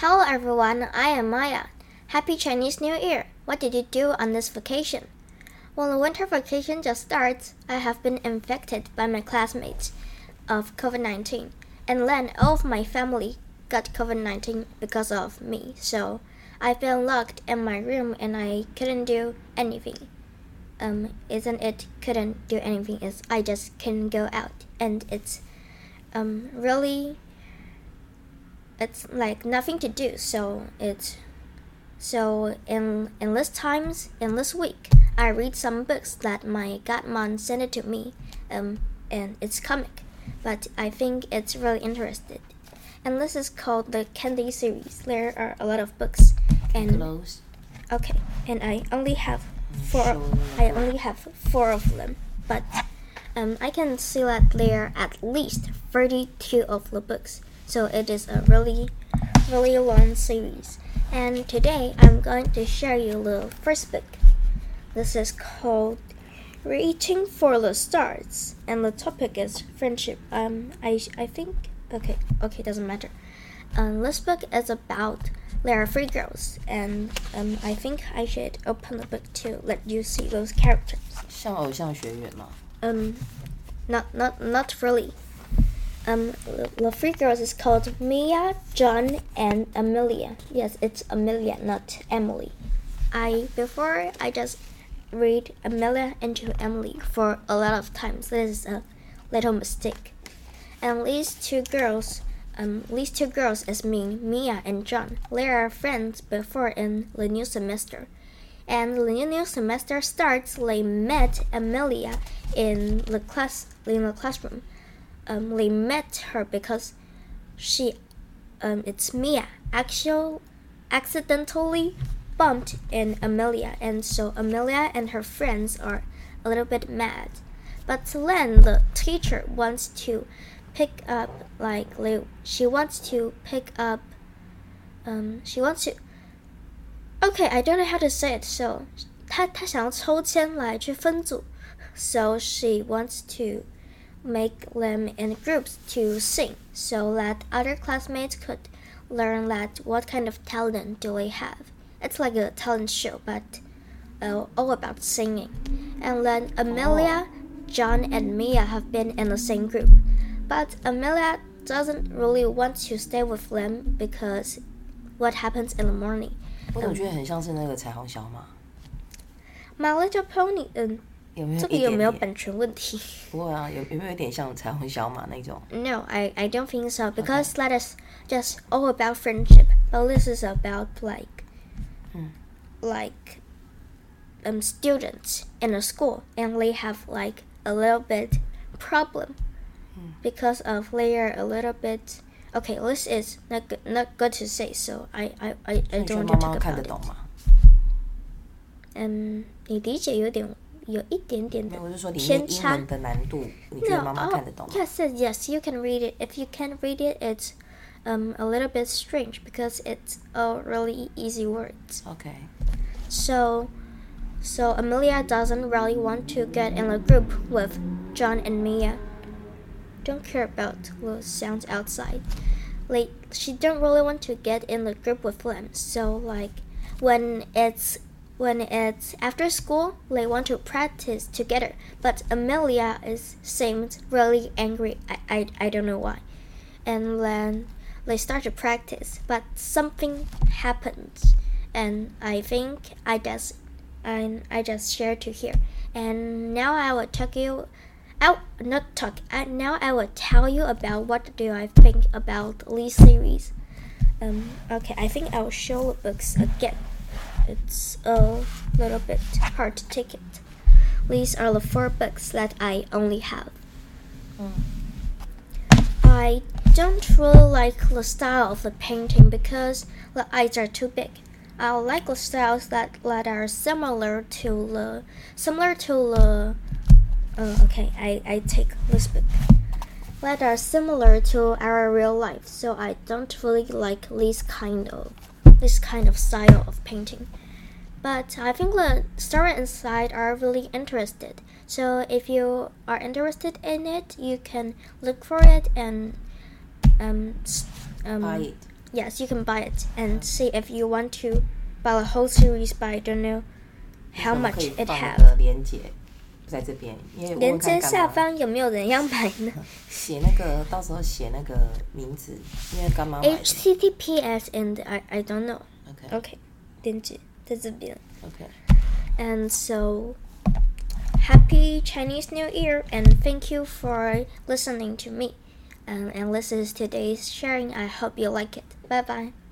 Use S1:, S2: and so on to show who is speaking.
S1: Hello everyone, I am Maya. Happy Chinese New Year! What did you do on this vacation? When the winter vacation just starts, I have been infected by my classmates of COVID-19, and then all of my family got COVID-19 because of me, so I've been locked in my room and I couldn't do anything. Isn't it couldn't do anything, is I just couldn't go out, and it's like nothing to do, so in this week I read some books that my godmom sent it to me, and it's comic, but I think it's really interesting. And this is called the Candy series. There are a lot of books, and okay, and I only have four of them, but I can see that there are at least 32 of the books, so it is a really long series. And today I'm going to share you the first book. This is called Reaching for the Stars, and the topic is friendship. I think okay, doesn't matter. This book is about there are 3 girls, and I think I should open the book to let you see those characters.
S2: 像偶像学院吗？
S1: Not really. The 3 girls is called Mia, John, and Amelia. Yes, it's Amelia, not Emily. Before I just read Amelia into Emily for a lot of times. This is a little mistake. And these two girls is me, Mia and John. They are friends before in the new semester. And the new semester starts, they met Amelia in the classroom. They met her because it's Mia accidentally bumped in Amelia, and so Amelia and her friends are a little bit mad. But then the teacher wants to pick up, okay, I don't know how to say it, so 她想要抽签来去分组, so she wants to make them in groups to sing so that other classmates could learn that what kind of talent do they have. It's like a talent show, but all about singing. And then Amelia, John, and Mia have been in the same group, but Amelia doesn't really want to stay with them because what happens in the morning.
S2: 我总觉得很像是那个彩虹小马。
S1: My Little Pony， 这个有没有版权问题？
S2: 不会啊，有没有一点像彩虹小马那种
S1: ？No, I don't think so, because that is just all about friendship. But this is about students in a school, and they have like a little bit problem because of they are a little bit. Okay, this is not good to say, so I don't want to talk about it. 你理解有一点点的偏差。
S2: 英文的难度，你觉得妈妈看得懂吗？
S1: Yes, you can read it. If you can't read it, it's a little bit strange because it's all really easy words.
S2: Okay.
S1: So Amelia doesn't really want to get in a group with John and Mia. Don't care about the sounds outside. She don't really want to get in the group with them. So when it's after school, they want to practice together. But Amelia seems really angry. I don't know why. And then they start to practice, but something happens, and I think I just shared to here. And now I will now I will tell you about what do I think about these series. Okay, I think I will show the books again. It's a little bit hard to take it. These are the 4 books that I only have. I don't really like the style of the painting because the eyes are too big. I like the styles that are similar to the okay, I take this book. That are similar to our real life, so I don't really like this kind of style of painting. But I think the story inside are really interested. So if you are interested in it, you can look for it and
S2: buy it.
S1: Yes, you can buy it and see if you want to buy the whole series, but I don't know how much it has.
S2: 连结在这边，因为
S1: 连接下方有没有人要买呢？
S2: 写那个，到时候写那个名字，因为干妈买的。
S1: HTTPS and I don't know.
S2: Okay.
S1: 连接在这边。
S2: Okay.
S1: And so, happy Chinese New Year, and thank you for listening to me. And this is today's sharing. I hope you like it. Bye bye.